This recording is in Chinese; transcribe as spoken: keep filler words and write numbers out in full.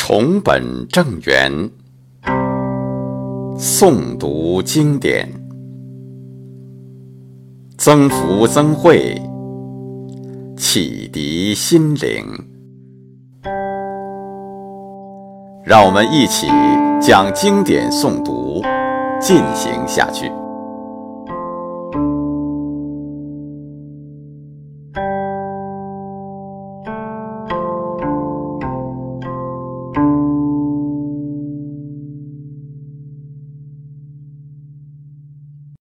重本正源，诵读经典，增福增慧，启迪心灵。让我们一起将经典诵读进行下去。